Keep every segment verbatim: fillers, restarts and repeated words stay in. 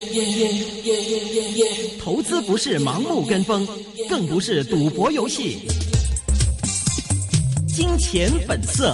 投資不是盲目跟風，更不是賭博遊戲。金錢本色。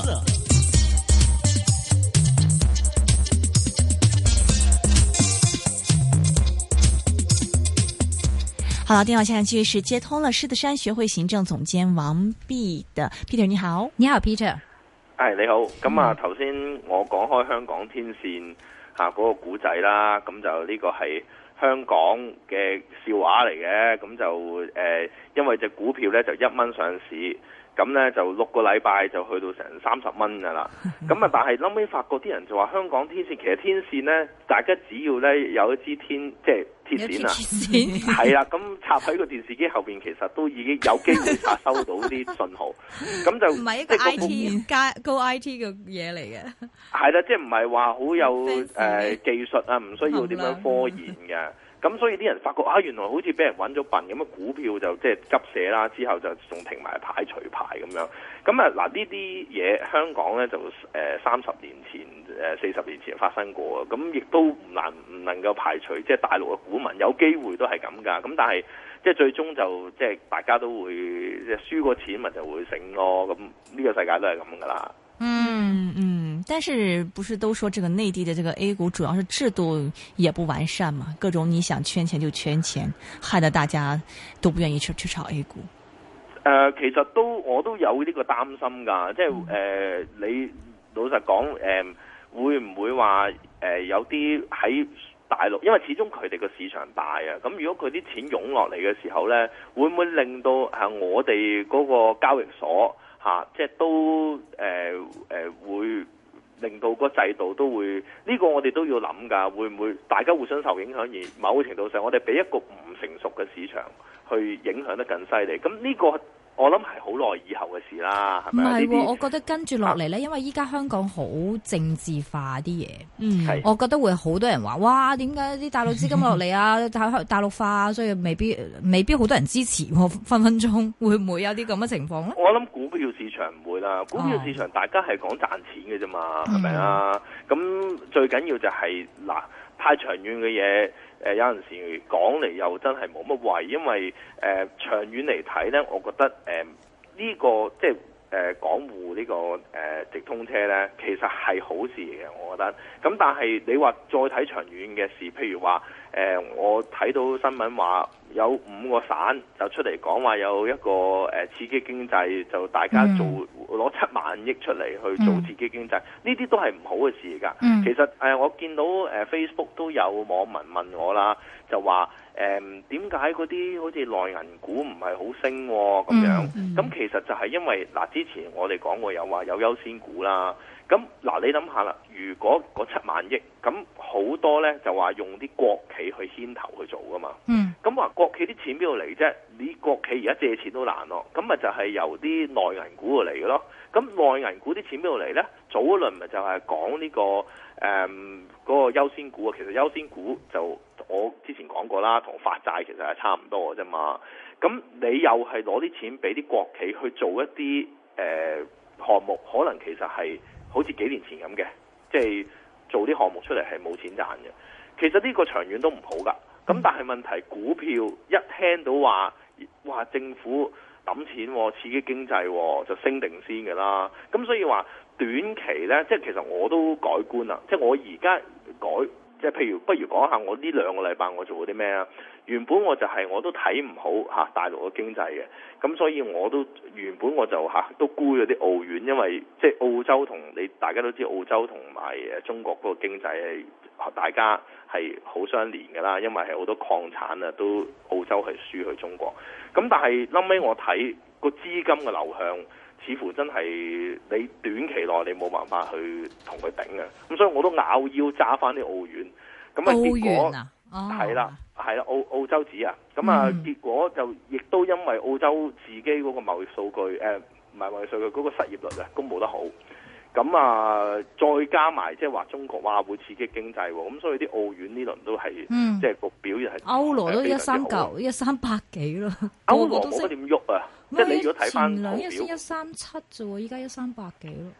好了，電話現在繼續是接通了獅子山學會行政總監王弼的 Peter， 你好， 你好 Peter。 係你好，咁啊頭先我講開香港天線吓嗰個古仔啦，咁就呢個係香港嘅笑話嚟嘅，咁就誒、呃，因為隻股票咧就一蚊上市，咁咧就六個禮拜就去到成三十蚊噶啦，咁啊但係後尾發覺啲人就話香港天線其實天線咧，大家只要咧有一支天即係鐵線啊，係啦，咁插喺個電視機後邊，其實都已經有機會查收到啲信號，咁就唔係一個 I T 加高 I T 嘅嘢嚟嘅， 係啦，即係唔係話好有誒、呃、技術啊，唔需要點樣科研嘅。咁所以啲人發覺啊，原來好似俾人揾咗笨咁嘅股票就即係急瀉啦，之後就仲停埋牌除牌咁樣。咁啊嗱，呢啲嘢香港咧就誒三十年前誒四十年前發生過啊，咁亦都唔難唔能夠排除即係大陸嘅股民有機會都係咁噶。咁但係即係最終就即係大家都會即係輸過錢咪就會醒咯。咁呢個世界都係咁噶啦。 嗯嗯，但是不是都說這個內地的這個 A 股主要是制度也不完善嘛？各種你想圈錢就圈錢，害得大家都不願意去去炒 A 股。 誒、呃，其實都我都有呢個擔心㗎，即係誒、呃，你老實講誒、呃，會唔會話誒、呃、有啲喺大陸，因為始終佢哋個市場大啊，咁如果佢啲錢湧落嚟嘅時候咧，會唔會令到係我哋嗰個交易所？嚇、啊，即係都誒誒、呃呃、會令到個制度都會呢、這個我哋都要諗㗎，會唔會大家互相受影響，而某個程度上我哋俾一個唔成熟嘅市場去影響得更犀利？咁呢個我諗係好耐以後嘅事啦，係咪？唔係喎，我覺得跟住落嚟咧，因為依家香港好政治化啲嘢，嗯， 係， 我覺得會好多人話，哇，點解啲大陸資金落嚟啊？大大陸化，所以未必未必好多人支持，分分鐘會唔會有啲咁嘅情況咧？ 我諗股票市場唔會啦，股票市場大家係講賺錢嘅啫嘛，係咪啊？咁最緊要就係、是、嗱，太長遠嘅嘢。誒、呃、有陣時講嚟又真係冇乜謂，因為誒、呃、長遠嚟睇咧，我覺得誒呢、呃這個即係誒港滬呢個誒、呃、直通車咧，其實係好事嚟嘅，我覺得。咁但係你話再睇長遠嘅事，譬如話誒、呃，我睇到新聞話有五個省就出嚟講話有一個誒、呃、刺激經濟，就大家做攞七萬億出嚟去做刺激經濟，呢、嗯、啲都係唔好嘅事嚟㗎、嗯。其實誒、呃，我見到誒、呃、Facebook 都有網民問我啦，就話誒點解嗰啲好似內銀股唔係好升咁、啊、樣？咁、嗯嗯、其實就係因為嗱、呃，之前我哋講過有話有優先股啦。咁嗱、呃，你諗下啦，如果嗰七萬億，咁好多咧就話用啲國企去牽頭去做噶嘛。嗯。咁話國企啲錢邊度嚟啫？你國企而家借錢都難咯，咁咪就係由啲內銀股嚟嘅咯。咁內銀股啲錢邊度嚟咧？早一輪咪就係講呢個誒嗰、嗯嗰個優先股啊。其實優先股就我之前講過啦，同發債其實係差唔多嘅啫嘛。咁你又係攞啲錢俾啲國企去做一啲誒、呃、項目，可能其實係。好似幾年前咁嘅，即係做啲項目出嚟係冇錢賺嘅。其實呢個長遠都唔好噶。咁但係問題，股票一聽到話，哇政府揼錢刺激經濟，就升定先嘅啦。咁所以話短期呢，即係其實我都改觀啦。即係我而家改，即係譬如不如講下我呢兩個禮拜我做咗啲咩啊？原本我就係、是、我都睇唔好嚇大陸嘅經濟嘅，咁所以我都原本我就嚇都沽咗啲澳元，因為即係澳洲同你大家都知澳洲同埋誒中國嗰個經濟係大家係好相連嘅啦，因為係好多礦產啊都澳洲係輸去中國，咁但係後尾我睇個資金嘅流向，似乎真係你短期內你冇辦法去同佢頂嘅，咁所以我都咬腰揸翻啲澳元，咁啊結果係啦。係啦，澳澳洲紙啊，咁啊、嗯，結果就亦都因為澳洲自己嗰個貿易數據，誒唔係貿易數據，嗰、嗰個失業率啊公佈得好，咁啊再加埋即係話中國話會刺激經濟喎，咁所以啲澳元呢輪都係、嗯、即係個表現係歐羅都一三九一三百幾咯， 歐羅冇乜點喐啊，即係你如果睇翻圖表， 前兩日先一三七啫喎，依家一三百幾咯。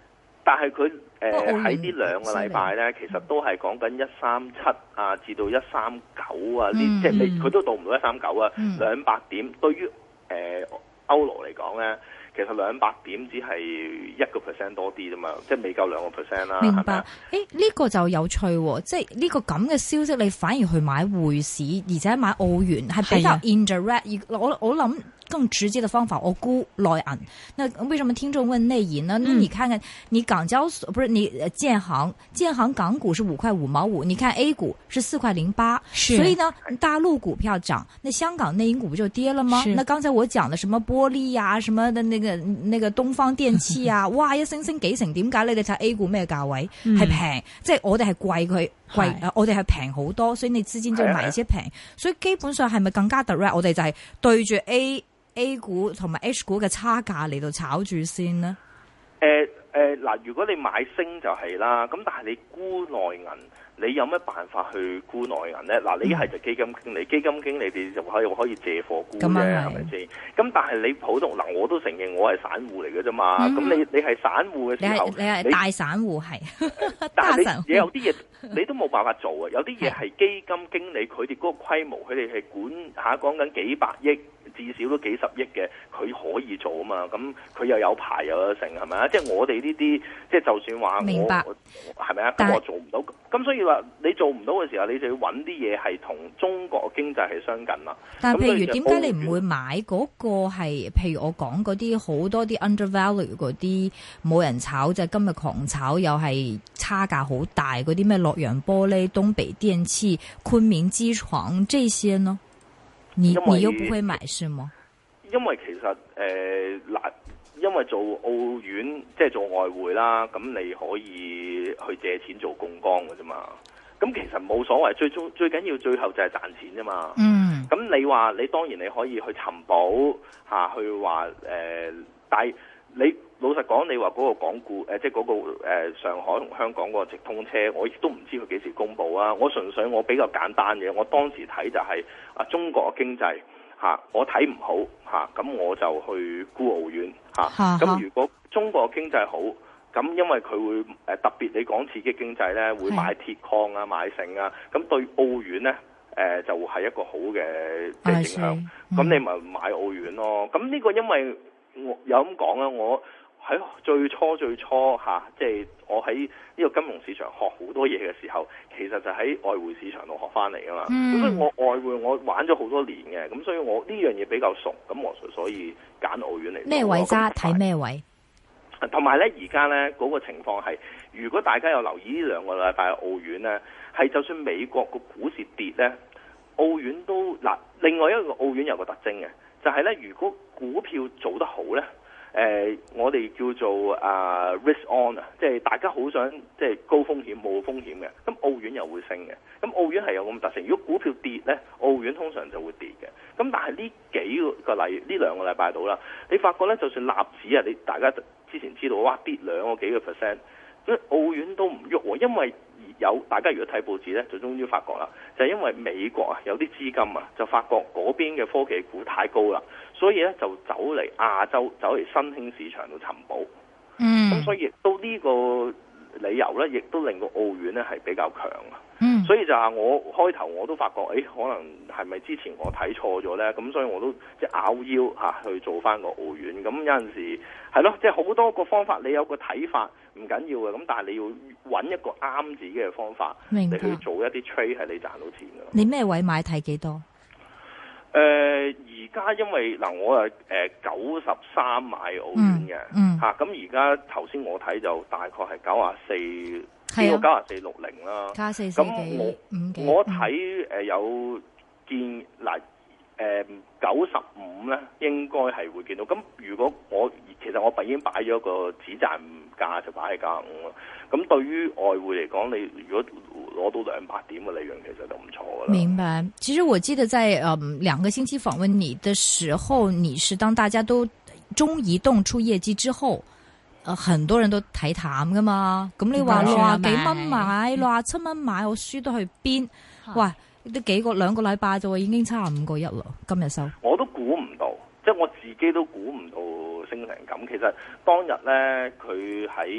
但係佢誒喺呢兩個禮拜咧，其實都係講緊一三七啊至到一三九啊，呢、嗯、即係你佢都到唔到一三九啊，兩百、嗯、點對於誒、呃、歐羅嚟講咧。其實兩百點只係一個 percent 多啲啫嘛，即係未夠兩個 percent 啦。 明白？誒，呢、這個就有趣喎，即係呢個咁嘅消息，你反而去買匯市，而且買澳元係比較 indirect。我我諗更直接的方法，我估內銀。那為什麼聽眾問內銀呢？嗯、你看看，你港交所不是你建行，建行港股是五塊五毛五，你看 A 股是四塊零八，所以呢，大陸股票漲，那香港內銀股不就跌了嗎？那剛才我講的什麼玻璃呀、啊，什麼的那個。那個東方電器啊，哇一升升幾成，點解你哋睇 A 股咩價位係平？即係我哋係貴佢貴，我哋係平好多，所以你資金就買一些平，所以基本上係咪更加 direct？我哋就係對住 A A 股同埋 H 股嘅差價嚟到炒住先呢？ 誒誒嗱，如果你買升就係啦，咁但係你沽內銀。你有咩辦法去沽內銀咧？嗱，你一係就基金經理，基金經理你就可以可以借貨沽啫，係咪先？咁但係你普通嗱，我都承認我係散戶嚟嘅啫嘛。咁、嗯、你你係散戶嘅時候， 你係大散戶係， 但係你有啲嘢你都冇辦法做啊！有啲嘢係基金經理佢哋嗰個規模，佢哋係管下講緊幾百億。至少都幾十億嘅，佢可以做啊嘛，咁佢又有牌又有成，係咪啊？即係我哋呢啲，即係就算話我係咪啊？咁我做唔到，咁所以話你做唔到嘅時候，你就要揾啲嘢係同中國經濟係相近啦。 但係譬如點解你唔會買嗰個係？譬如我講嗰啲好多啲 undervalue 嗰啲冇人炒，就係今日狂炒，又係差價好大嗰啲咩洛陽玻璃、東北電器、昆明機床這些呢？你你又不會買是嗎？ 因為其實誒嗱、呃，因為做澳元即係做外匯啦，咁你可以去借錢做槓桿嘅啫嘛。咁其實冇所謂，最終最緊要最後就係賺錢啫嘛。嗯。咁你話你當然你可以去尋寶嚇、啊，去話誒、呃，但係你老實講，你話嗰個港股誒、呃，即係嗰、那個誒、呃、上海同香港嗰個直通車，我亦都唔知佢幾時公布啊。我純粹我比較簡單嘅，我當時睇就係、是、啊中國嘅經濟嚇、啊，我睇唔好嚇，咁、啊、我就去沽澳元嚇。咁、啊、如果中國經濟好，咁因為佢會誒、呃、特別你講刺激經濟咧，會買鐵礦啊、買成啊，咁對澳元咧誒、呃、就係、是、一個好嘅即係影響。咁、嗯、你咪買澳元咯。咁呢個因為我有咁講啊，我。喺最初最初嚇，即係我喺呢個金融市場學好多嘢嘅時候，其實就喺外匯市場度學翻嚟噶嘛。咁、嗯、所以我外匯我玩咗好多年嘅，咁所以我呢樣嘢比較熟，咁我所以揀澳元嚟。咩位揸？睇咩位？ 同埋咧，而家咧嗰個情況係，如果大家有留意呢兩個禮拜澳元咧，係就算美國個股市跌咧，澳元都嗱。另外一個澳元有個特徵嘅，就係、是、咧，如果股票做得好咧。誒、呃，我哋叫做啊、uh, risk on 啊，即係大家好想即係高風險冇風險嘅，咁澳元又會升嘅。咁澳元係有咁特性，如果股票跌咧，澳元通常就會跌嘅。咁但係呢幾個禮呢兩個禮拜到啦，你發覺咧，就算納指啊，你大家之前知道哇跌兩個幾個 percent，咁澳元都唔喐喎，因為有大家如果睇報紙咧，就終於發覺啦，就係、是、因為美國啊有啲資金啊，就發覺嗰邊嘅科技股太高啦，所以咧就走嚟亞洲，走嚟新興市場度尋寶。嗯，咁所以亦都呢個理由咧，亦都令到澳元咧係比較強啊。嗯，所以就係我開頭我都發覺，誒、欸、可能係咪之前我睇錯咗咧？咁所以我都即係拗腰嚇、啊、去做翻個澳元。咁有陣時係咯，即係好多個方法，你有個睇法唔緊要嘅，咁但係你要揾一個啱自己嘅方法嚟去做一啲 trade 係你賺到錢嘅。 你咩位買睇幾多？ 誒而家因為嗱、呃，我係誒九十三買澳元嘅，嚇咁而家頭先我睇就大概係九啊四，呢個九啊四六零啦。加四四幾五幾？我睇誒有見嗱誒九十五咧，應該係會見到。咁如果我其實我已經擺咗個止賺價，就擺喺九十五啦。咁對於外匯嚟講，你如果攞到兩百點嘅利潤，其實就唔錯噶啦。明白。 其實我記得在嗯兩個星期訪問你的時候，你是當大家都中移動出業績之後，呃很多人都睇淡噶嘛。咁你話六啊幾蚊買，六啊七蚊買，我輸到去邊？哇！都幾個兩個禮拜就已經差五個一啦。今日收我都估唔到，即係我自己都估唔到升成咁。其實當日咧，佢喺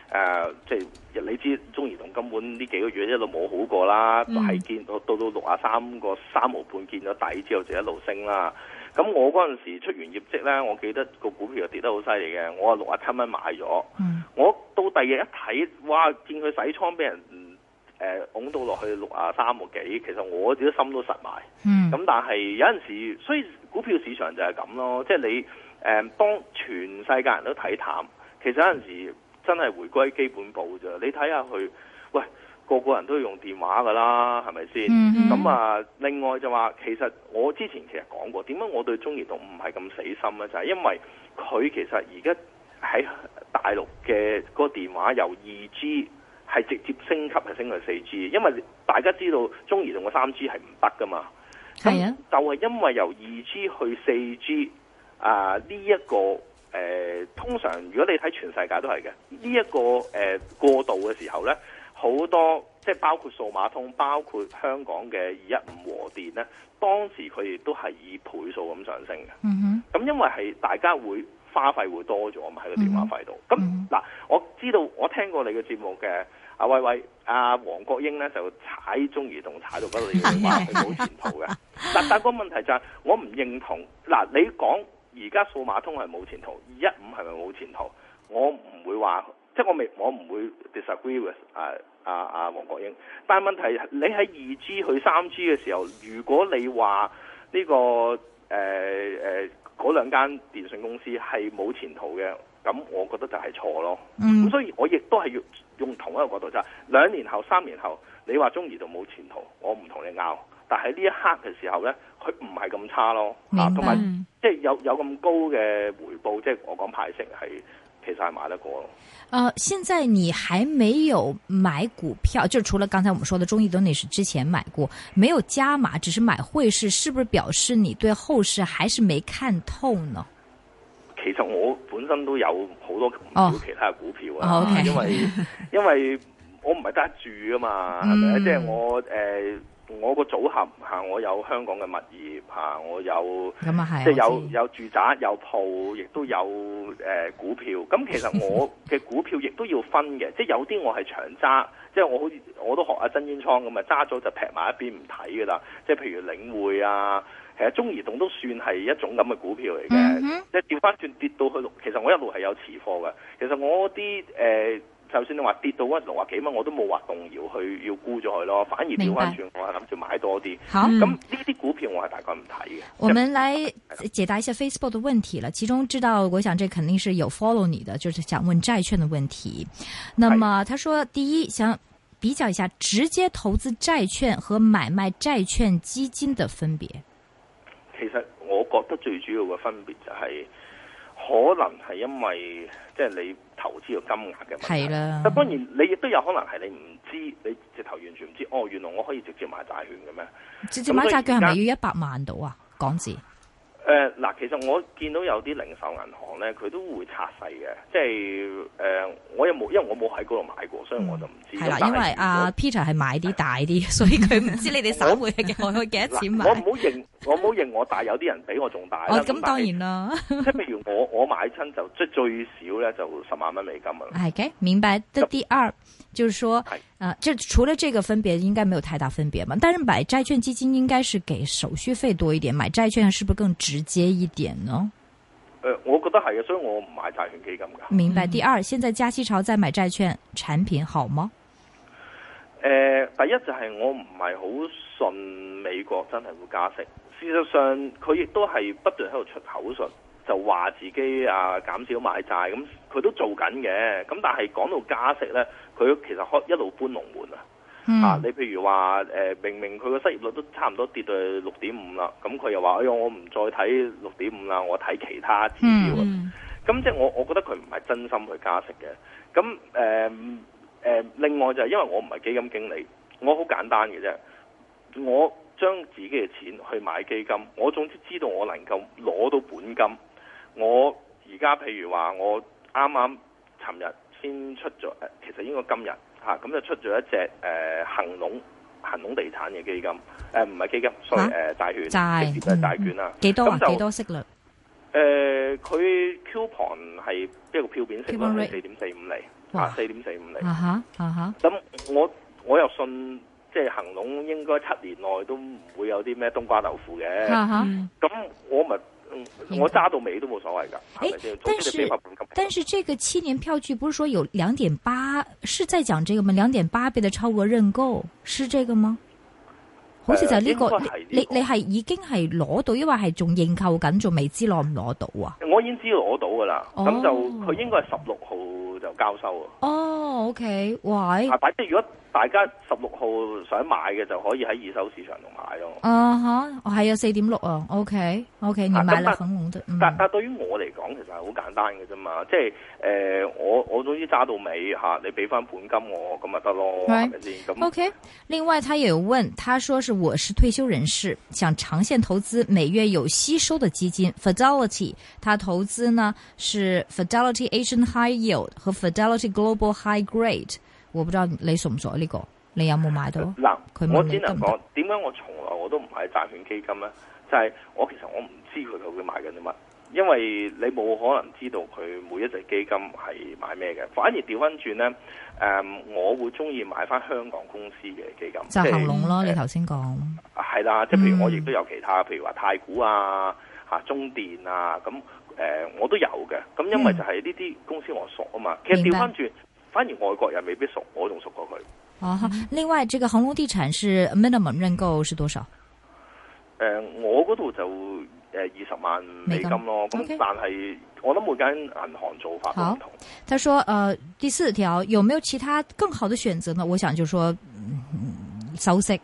誒，即係你知中移動根本呢幾個月一路冇好過啦，係、嗯、見到到到六啊三個三毫半見咗底之後就一路升啦。咁我嗰陣時出完業績咧，我記得個股票又跌得好犀利嘅，我係六啊七蚊買咗。嗯、我到第二日一睇，哇！見佢洗倉俾人誒拱、呃、到落去六啊三個幾，其實我自己心都實埋。咁、嗯、但係有陣時，所以股票市場就係咁咯，即係你誒、呃、當全世界人都睇淡，其實有陣時真係回歸基本步啫。你睇下佢，喂。個個人都要用電話噶啦，係咪先？咁、mm-hmm. 啊，另外就話，其實我之前其實講過，點解我對中移動唔係咁死心咧？就係、是、因為佢其實而家喺大陸嘅嗰個電話由二 G 係直接升級係升去四 G， 因為大家知道中移動嘅三 G 係唔得噶嘛。係啊，就係因為由二 G 去四 G 啊呢一個誒、呃，通常如果你睇全世界都係嘅呢一個誒、呃、過渡嘅時候咧。好多即係包括數碼通，包括香港嘅二一五和電咧，當時佢哋都係以倍數咁上升嘅。嗯哼，咁因為係大家會花費會多咗嘛喺個電話費度。咁、嗯、嗱，我知道我聽過你嘅節目嘅阿威威阿黃國英咧就踩中移動踩到嗰度，你話佢冇前途嘅。但但個問題就係、是、我唔認同。嗱，你講而家數碼通係冇前途，二一五係咪冇前途？我唔會話。即係我未，我唔會 disagree with 啊啊啊黃國英。但係問題係你喺二 G 去三 G 嘅時候，如果你話呢、這個誒誒嗰兩間電信公司係冇前途嘅，咁我覺得就係錯咯。咁、嗯、所以我亦都係要用同一個角度，就係、是、兩年後、三年後，你話中移動冇前途，我唔同你拗。但係呢一刻嘅時候咧，佢唔係咁差咯。啊，同埋即係有有咁高嘅回報，即係我講派息係。其實係買得過咯。 呃，現在你還沒有買股票，就除了剛才我們說的中移動，你是之前買過，沒有加碼，只是買匯市，是不是表示你對後市還是沒看透呢？ 其實我本身都有好多唔少其他嘅股票啊， 哦 okay. 因為因為我唔係得住㗎嘛，係咪？即係我誒。呃我個組合嚇，我有香港嘅物業嚇，我有即係、就是、有有住宅有鋪，亦都有誒、呃、股票。咁其實我嘅股票亦都要分嘅，即係有啲我係長揸，即係我好似我都學阿曾淵滄咁啊，揸咗就劈埋一邊唔睇噶啦。即係譬如領匯啊，其實中移動都算係一種咁嘅股票嚟嘅、嗯。即係調翻轉跌到去六，其實我一路係有持貨嘅。其實我啲誒。呃就算你話跌到嗰六啊幾蚊，我都冇話動搖去要沽咗佢咯，反而調翻轉，我係諗住買多啲。好，咁呢啲股票我係大概唔睇嘅。 我們來解答一下 Facebook 的問題了，其中知道，我想這肯定是有 follow 你的，就是想問債券的問題。那麼他說，第一想比較一下直接投資債券和買賣債券基金的分別。 其實我覺得最主要嘅分別就係、是。可能係因為即係你投資嘅金額嘅問題，係啦。但當然你亦都有可能係你唔知，你直頭完全唔知。哦，原來我可以直接買債券嘅咩？直接買債券係咪要一百萬到啊？港紙？誒、呃、嗱，其實我見到有啲零售銀行咧，佢都會拆細嘅，即係誒、呃，我又冇，因為我冇喺嗰度買過，所以我就唔知。係、嗯、啦，因為阿、啊、Peter 係買啲大啲，所以佢唔知你哋散戶係嘅，我去幾多錢買。我唔好認，我唔好認我大，有啲人比我仲大。哦，咁當然啦。即係譬如我我買親就即係最少咧就十萬蚊美金啊。係嘅，明白。的第二就是說，啊，就除了這個分別，應該沒有太大分別嘛。但是買債券基金應該是給手續費多一點，買債券是不是更直接一點呢？誒、呃，我覺得係嘅，所以我唔買債券基金噶。明白。第二，現在加息潮再買債券產品好嗎？誒、呃，第一就係我唔係好信美國真係會加息。事實上，佢亦都係不斷喺度出口術，就話自己啊減少買債，咁佢都做緊嘅。咁但係講到加息咧，佢其實開一路搬龍門啊。嗯、啊！你譬如話誒、呃，明明佢個失業率都差唔多跌到六點五啦，咁佢又話：哎呀，我唔再睇六點五啦，我睇其他指標啊。咁、嗯嗯、即係我，我覺得佢唔係真心去加息嘅。咁誒誒，另外就係因為我唔係基金經理，我好簡單嘅啫。我將自己嘅錢去買基金，我總之知道我能夠攞到本金。我而家譬如話，我啱啱尋日先出咗，其實應該今日。嚇、啊、咁就出咗一隻誒、呃、恒隆恒隆地產嘅基金，誒唔係基金，所以誒債券，直接係債券啦。幾、嗯、多啊？幾多息率？誒，佢 coupon 係一個票面息率係四點四五厘， 啊，四點四五厘。 啊哈啊哈。 咁我我又信，即係恒隆應該七年內都唔會有啲咩冬瓜豆腐嘅。 啊哈。 咁我咪。我揸到尾都冇所謂㗎，係咪先？ 但是但是這個七年票據不是說有兩點八，是在講這個嗎？兩點八倍的超額認購是這個嗎？好似就係呢個，你你係已經係攞到，抑或係仲認購緊，仲未知攞唔攞到啊？ 我已經知攞到㗎啦，咁、哦、就佢應該係十六號就交收啊。 哦 ，OK， 喂， 但係如果大家十六號想買嘅就可以喺二手市場度買咯。 啊哈，係啊，四點六啊 ，OK OK， 你買啦，很紅的。 但、嗯、但對於我嚟講，其實係好簡單嘅啫嘛，即係誒、呃，我我總之揸到尾嚇，你俾翻本金我咁咪得咯，係咪先？咁 OK。另外，他也有問，他說是我是退休人士，想長線投資，每月有息收的基金 Fidelity， 他投資呢是 Fidelity Asian High Yield 和 Fidelity Global High Grade。我不知道你熟唔熟呢個？你有冇買到？ 嗱，我只能講點解我從來我都唔買債券基金咧？就係、是、我其實我唔知佢究竟買緊啲乜，因為你冇可能知道佢每一隻基金係買咩嘅。反而調翻轉咧，誒、嗯，我會中意買翻香港公司嘅基金， 就恒隆咯。你頭先講係啦，即係譬如我亦都有其他，譬如話太古啊、嚇中電啊，咁誒、呃、我都有嘅。咁因為就係呢啲公司我熟啊嘛。其實調翻轉。反而外國人未必熟，我仲熟過佢。 哦，另外，這個恒隆地產是 minimum 認購是多少？誒、 呃，我嗰度就誒二十萬美金咯。咁、okay. 但係我諗每間銀行做法都唔同。 他說：，呃，第四條有沒有其他更好的選擇呢？我想就說，嗯、收息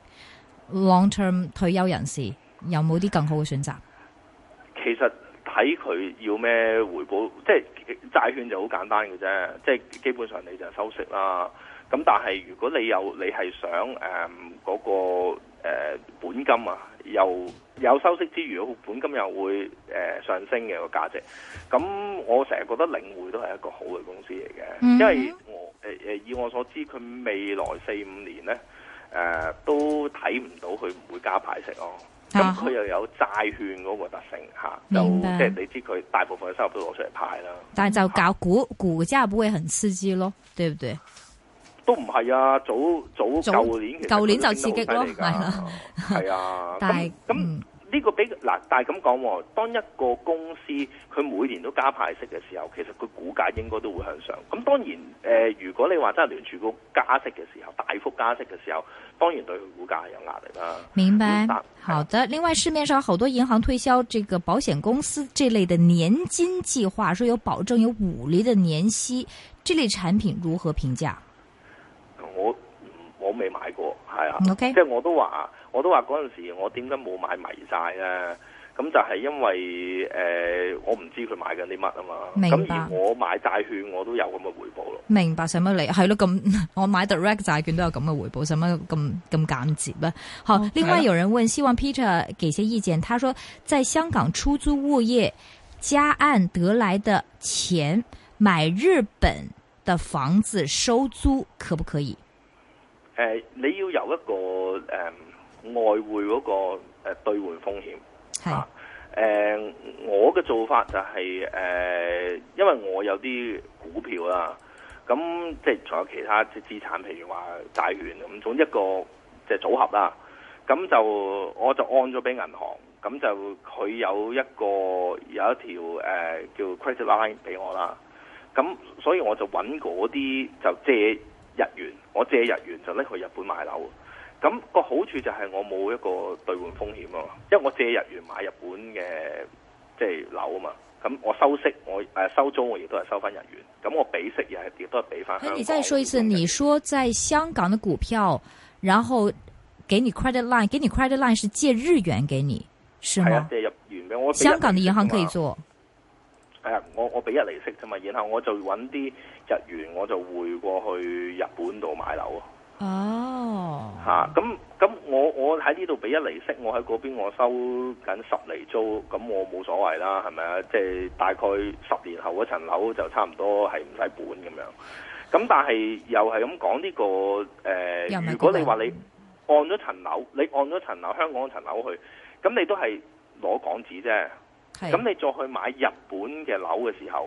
long term 退休人士有冇啲更好嘅選擇？ 其實睇佢要咩回報，即係。債券就好簡單嘅啫，即係基本上你就收息啦。咁但係如果你有你係想誒嗰、呃那個誒、呃、本金啊，又有收息之餘，本金又會誒、呃、上升嘅個價值。咁我成日覺得領匯都係一個好嘅公司嚟嘅、嗯，因為我誒誒、呃、以我所知，佢未來四五年咧誒、呃、都睇唔到佢唔會加派息咯。咁、啊、佢又有債券嗰個特性嚇，就即係你知佢大部分嘅收入都攞出嚟派啦。但係就搞股股價不會很刺激咯，對唔對？都唔係啊，早早舊年其實舊年就刺激咯，係啦，係啊。但係咁呢個比嗱，但係咁講，當一個公司佢每年都加派息嘅時候，其實佢股價應該都會向上。咁當然誒、呃，如果你話真係聯儲局加息嘅時候，大幅加息嘅時候，當然對佢股價係有壓力啦。明白，好的。另外，市面上好多銀行推銷這個保險公司這類的年金計劃，說有保證有五厘的年息，這類產品如何評價？我我未買過，係啊，okay. 即係我都話，我都話嗰陣時我點解冇買迷債咧？咁就係因為誒、呃，我唔知佢買緊啲乜啊嘛。明白。咁而我買債券，我都有咁嘅回報咯。明白，使乜嚟？係咯，咁我買 direct 債券都有咁嘅回報，使乜咁咁間接咧？好，okay. 另外有人問，希望 Peter 給些意見。他說，在香港出租物業加按得來的錢買日本的房子收租，可不可以？誒、呃，你要有一個誒、呃、外匯嗰、那個誒兌換風險。係，誒、啊呃，我嘅做法就係、是、誒、呃，因為我有啲股票啦，咁即係仲有其他即係資產，譬如話債券咁，總之一個即係組合啦。咁就我就按咗俾銀行，咁就佢有一個有一條誒、呃、叫 credit line 俾我啦。咁所以我就揾嗰啲就借日元，我借日元就拎去日本買樓。咁、那個好處就係我冇一個兌換風險啊，因為我借日元買日本嘅即係樓啊嘛。咁我收息，我誒、呃、收租我亦都係收翻日元。咁我俾息亦係亦都係俾翻香港。你再說一次，你說在香港的股票，然後給你 credit line， 給你 credit line 是借日元給你，是嗎？係啊，借日元俾我。香港的銀行可以做。係啊，我我俾一厘息啫嘛，然後我就揾啲日元，我就匯過去日本度買樓。哦，吓咁咁，我我喺呢度俾一厘息，我喺嗰邊我收緊十厘租，咁我冇所謂啦，係咪啊？即係大概十年後嗰層樓就差唔多係唔使本咁樣。咁但係又係咁講呢個誒、呃，如果你話你按咗層樓，你按咗層樓香港層樓去，咁你都係攞港紙啫。咁你再去買日本嘅樓嘅時候，咁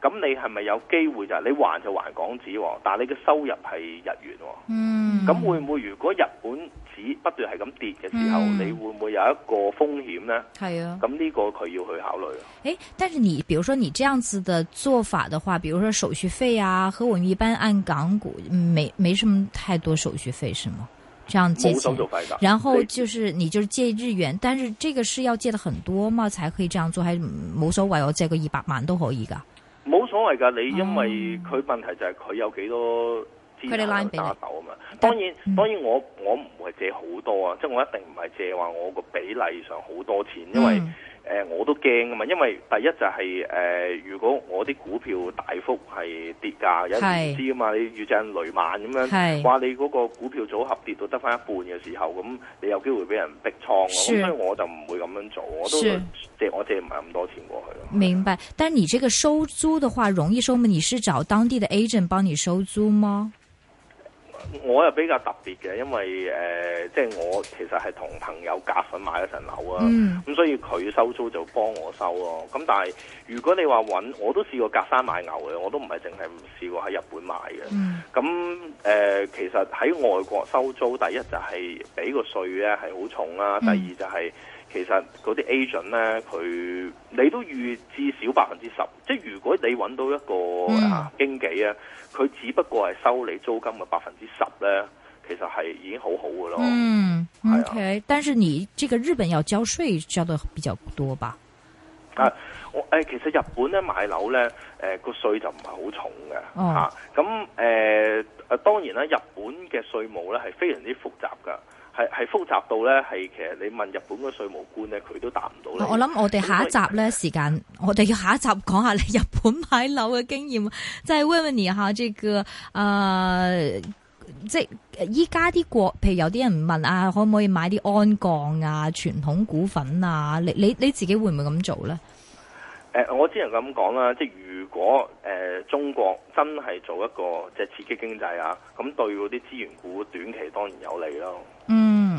咁你係咪有機會就係你還就還港紙，但係你嘅收入係日元？ 嗯， 咁會唔會如果日本紙不斷係咁跌嘅時候，嗯、你會唔會有一個風險呢？ 係啊， 咁呢個佢要去考慮。 誒，但是你，比如說你這樣子的做法的話，比如說手續費啊，和我們一般按港股，沒沒什麼太多手續費，是嗎？這樣借錢，然後就是你就是借日元，但是這個是要借得很多嗎？才可以這樣做，還是冇所謂，我借個二百萬都可以噶？ 冇所謂噶，你因為佢問題就係佢有幾多資產揸手啊嘛。當然，嗯、當然我我唔會借好多啊，即係我一定唔係借話我個比例上好多錢，因為。嗯誒、呃、我都驚㗎嘛，因為第一就係、是、誒、呃，如果我啲股票大幅係跌價，有時唔知㗎嘛，你遇正雷曼咁樣，話你嗰個股票組合跌到得返一半嘅時候，咁你有機會俾人逼倉，咁所以我就唔會咁樣做，我都借我借唔係咁多錢過去。 明白，但係你這個收租的話容易收嗎？你是找當地的 agent 幫你收租嗎？ 我又比較特別嘅，因為誒、呃，即係我其實係同朋友夾份買一層樓啊，咁、嗯、所以佢收租就幫我收咯。咁但係如果你話揾，我都試過隔山買牛嘅，我都唔係淨係唔試過喺日本買嘅。咁誒、嗯呃，其實喺外國收租，第一就係俾個稅咧係好重啦，嗯、第二就係、是。其實嗰啲 agent 咧，佢你都預至少百分之十。即係如果你揾到一個、嗯、啊經紀啊，佢只不過係收你租金嘅百分之十咧，其實係已經好好嘅咯。 嗯，OK、啊。但是你這個日本要交稅交得比較多吧？ 啊，我誒、呃、其實日本咧買樓咧，誒個稅就唔係好重嘅嚇。咁誒誒當然啦，日本嘅稅務咧係非常之複雜㗎。係係複雜到咧，係其實你問日本嘅稅務官咧，佢都答唔到你。 我諗我哋下一集咧時間，我哋要下一集講下你日本買樓嘅經驗。再問問你下，這個誒、呃，即係依家啲國，譬如有啲人問啊，可唔可以買啲安鋼啊、傳統股份啊？你你你自己會唔會咁做咧？誒、 呃，我只能咁講啦，即係如果誒、呃、中國真係做一個即係刺激經濟啊，咁對嗰啲資源股短期當然有利咯。 嗯，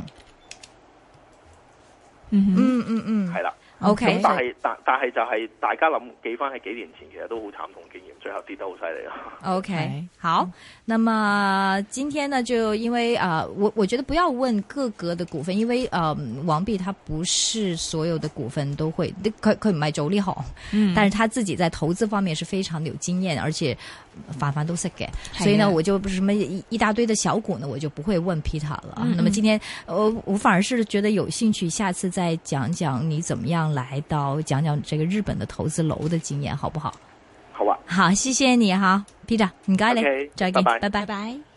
嗯嗯嗯嗯， 係啦 ，OK。 咁但係但但係就係大家諗記翻喺幾年前，其實都好慘痛經驗，最後跌得好犀利啊。 OK，好。那麼今天呢，就因為啊、呃，我我覺得不要問各個的股份，因為呃，王弼他不是所有的股份都會，佢佢唔係做呢行，嗯，但是他自己在投資方面是非常有經驗，而且凡凡都識嘅，所以呢，我就不是什麼一一大堆的小股呢，我就不會問 Peter 了。嗯、那麼今天，呃，我反而是覺得有興趣，下次再講講你怎麼樣來到，講講這個日本的投資樓的經驗，好不好？ 好啊， 好，謝謝你哈，Peter，唔該你， okay, 再見， 拜拜， 拜拜。